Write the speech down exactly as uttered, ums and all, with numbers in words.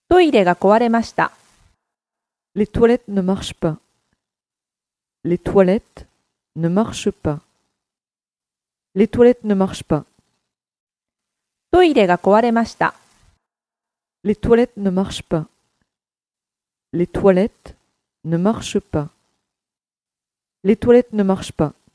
トイレが壊れました。 Les toilettes ne marchent pas. Les toilettes ne marchent pas. Les toilettes ne marchent pas. トイレが壊れました。 Les toilettes ne marchent pas. Les toilettes ne marchent pas. Les toilettes ne marchent pas.